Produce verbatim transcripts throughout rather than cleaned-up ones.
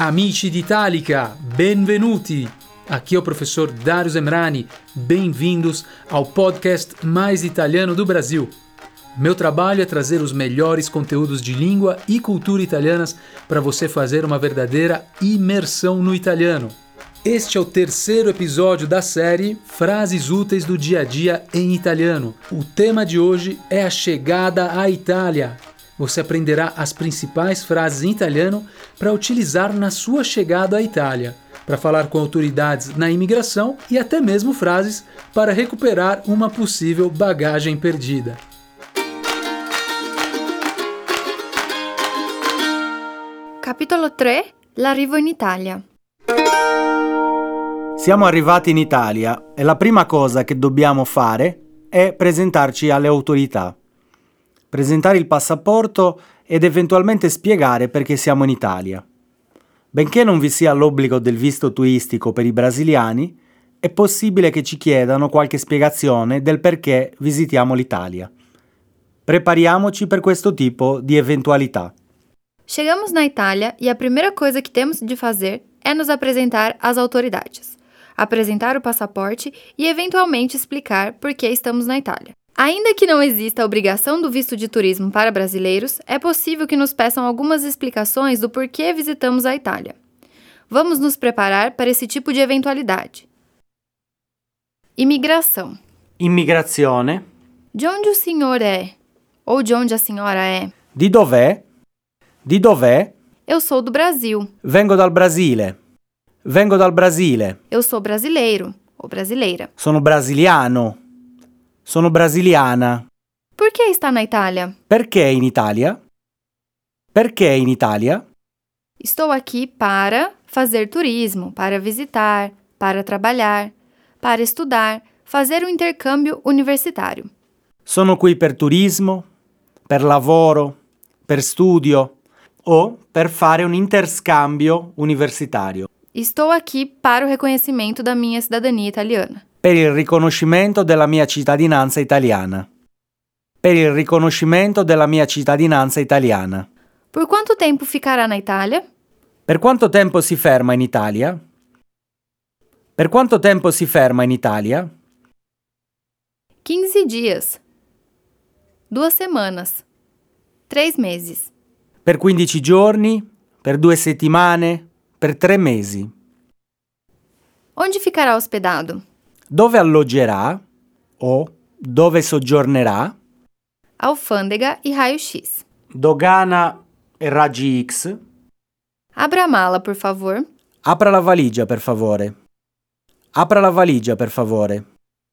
Amici d'Italica, benvenuti! Aqui é o professor Darius Emrani, bem-vindos ao podcast mais italiano do Brasil. Meu trabalho é trazer os melhores conteúdos de língua e cultura italianas para você fazer uma verdadeira imersão no italiano. Este é o terceiro episódio da série Frases Úteis do Dia a Dia em Italiano. O tema de hoje é a chegada à Itália. Você aprenderá as principais frases em italiano para utilizar na sua chegada à Itália, para falar com autoridades na imigração e até mesmo frases para recuperar uma possível bagagem perdida. Capitolo tre. L'arrivo in Italia. Siamo arrivati in Italia e la prima cosa che dobbiamo fare è presentarci alle autorità. Presentare il passaporto ed eventualmente spiegare perché siamo in Italia. Benché non vi sia l'obbligo del visto turistico per i brasiliani, è possibile che ci chiedano qualche spiegazione del perché visitiamo l'Italia. Prepariamoci per questo tipo di eventualità. Chegamos na Itália e a primeira coisa que temos de fazer é nos apresentar às autoridades, apresentar o passaporte e eventualmente explicar por que estamos na Itália. Ainda que não exista a obrigação do visto de turismo para brasileiros, é possível que nos peçam algumas explicações do porquê visitamos a Itália. Vamos nos preparar para esse tipo de eventualidade. Imigração. Immigrazione. De onde o senhor é? Ou de onde a senhora é? Di dov'è? Di dov'è? Eu sou do Brasil. Vengo dal Brasile. Vengo dal Brasile. Eu sou brasileiro ou brasileira. Sono brasiliano. Sono brasiliana. Por que está na Itália? Perché in Italia? Perché in Italia? Estou aqui para fazer turismo, para visitar, para trabalhar, para estudar, fazer um intercâmbio universitário. Sono qui per turismo, per lavoro, per studio o per fare un interscambio universitario. Estou aqui para o reconhecimento da minha cidadania italiana. Per il riconoscimento della mia cittadinanza italiana. Per il riconoscimento della mia cittadinanza italiana. Por quanto tempo ficará na Itália? Per quanto tempo si ferma in Italia? Per quanto tempo si ferma in Italia? quinze dias. Duas semanas. Três meses. Per quindici giorni? Per due settimane? Per tre mesi. Onde ficará hospedado? Dove alloggerà o dove soggiornerà? Alfândega e raio-x. Dogana e raggi X. Abra a mala, por favor. Apra la valigia, per favore. Apra la valigia, per favore.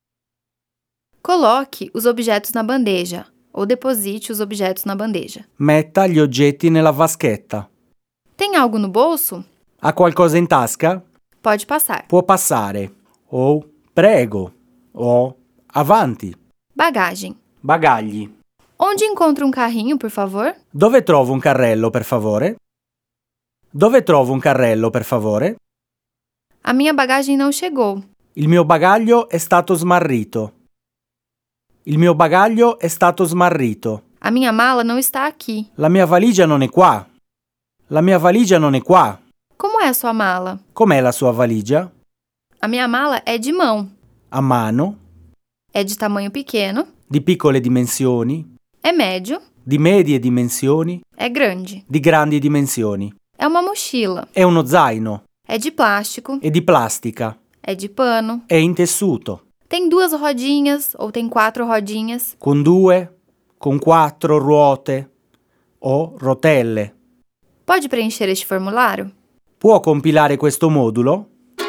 Coloque os objetos na bandeja ou deposite os objetos na bandeja. Metta gli oggetti nella vaschetta. Tem algo no bolso? Ha qualcosa in tasca? Pode passar. Può passare. O prego. O avanti. Bagagem. Bagagli. Onde encontro um carrinho, por favor? Dove trovo un carrello, per favore? Dove trovo un carrello, per favore? A minha bagagem não chegou. Il mio bagaglio è stato smarrito. Il mio bagaglio è stato smarrito. A minha mala não está aqui. La mia valigia non è qua. La mia valigia non è qua. Como é a sua mala? Com'è la sua valigia? A minha mala é de mão. A mano? É de tamanho pequeno. Di piccole dimensioni? É médio. Di medie dimensioni? É grande. Di grandi dimensioni? É uma mochila. È uno zaino? É de plástico. È di plastica? É de pano. È in tessuto? Tem duas rodinhas ou tem quatro rodinhas. Con due? Con quattro ruote? O rotelle? Pode preencher este formulário? Può compilare questo modulo?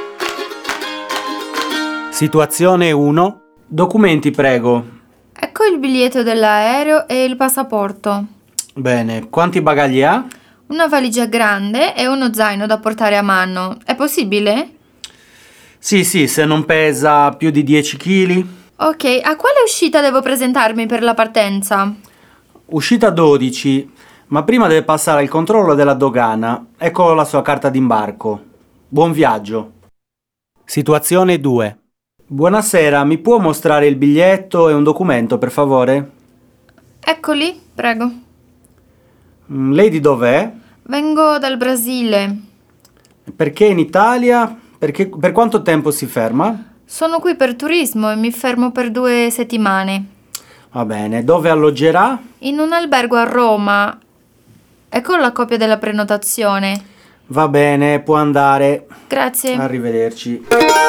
Situazione uno. Documenti, prego. Ecco il biglietto dell'aereo e il passaporto. Bene, quanti bagagli ha? Una valigia grande e uno zaino da portare a mano. È possibile? Sì, sì, se non pesa più di dieci chili. Ok, a quale uscita devo presentarmi per la partenza? Uscita dodici, ma prima deve passare il controllo della dogana. Ecco la sua carta d'imbarco. Buon viaggio. Situazione due. Buonasera, mi può mostrare il biglietto e un documento, per favore? Eccoli, prego. Lei di dov'è? Vengo dal Brasile. Perché in Italia? Perché, per quanto tempo si ferma? Sono qui per turismo e mi fermo per due settimane. Va bene, dove alloggerà? In un albergo a Roma. Ecco la copia della prenotazione. Va bene, può andare. Grazie. Arrivederci.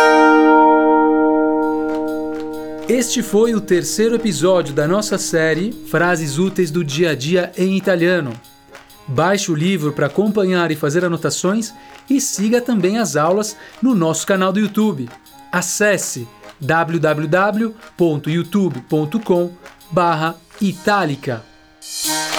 Este foi o terceiro episódio da nossa série Frases Úteis do Dia a Dia em Italiano. Baixe o livro para acompanhar e fazer anotações e siga também as aulas no nosso canal do YouTube. Acesse w w w ponto youtube ponto com barra Itálica.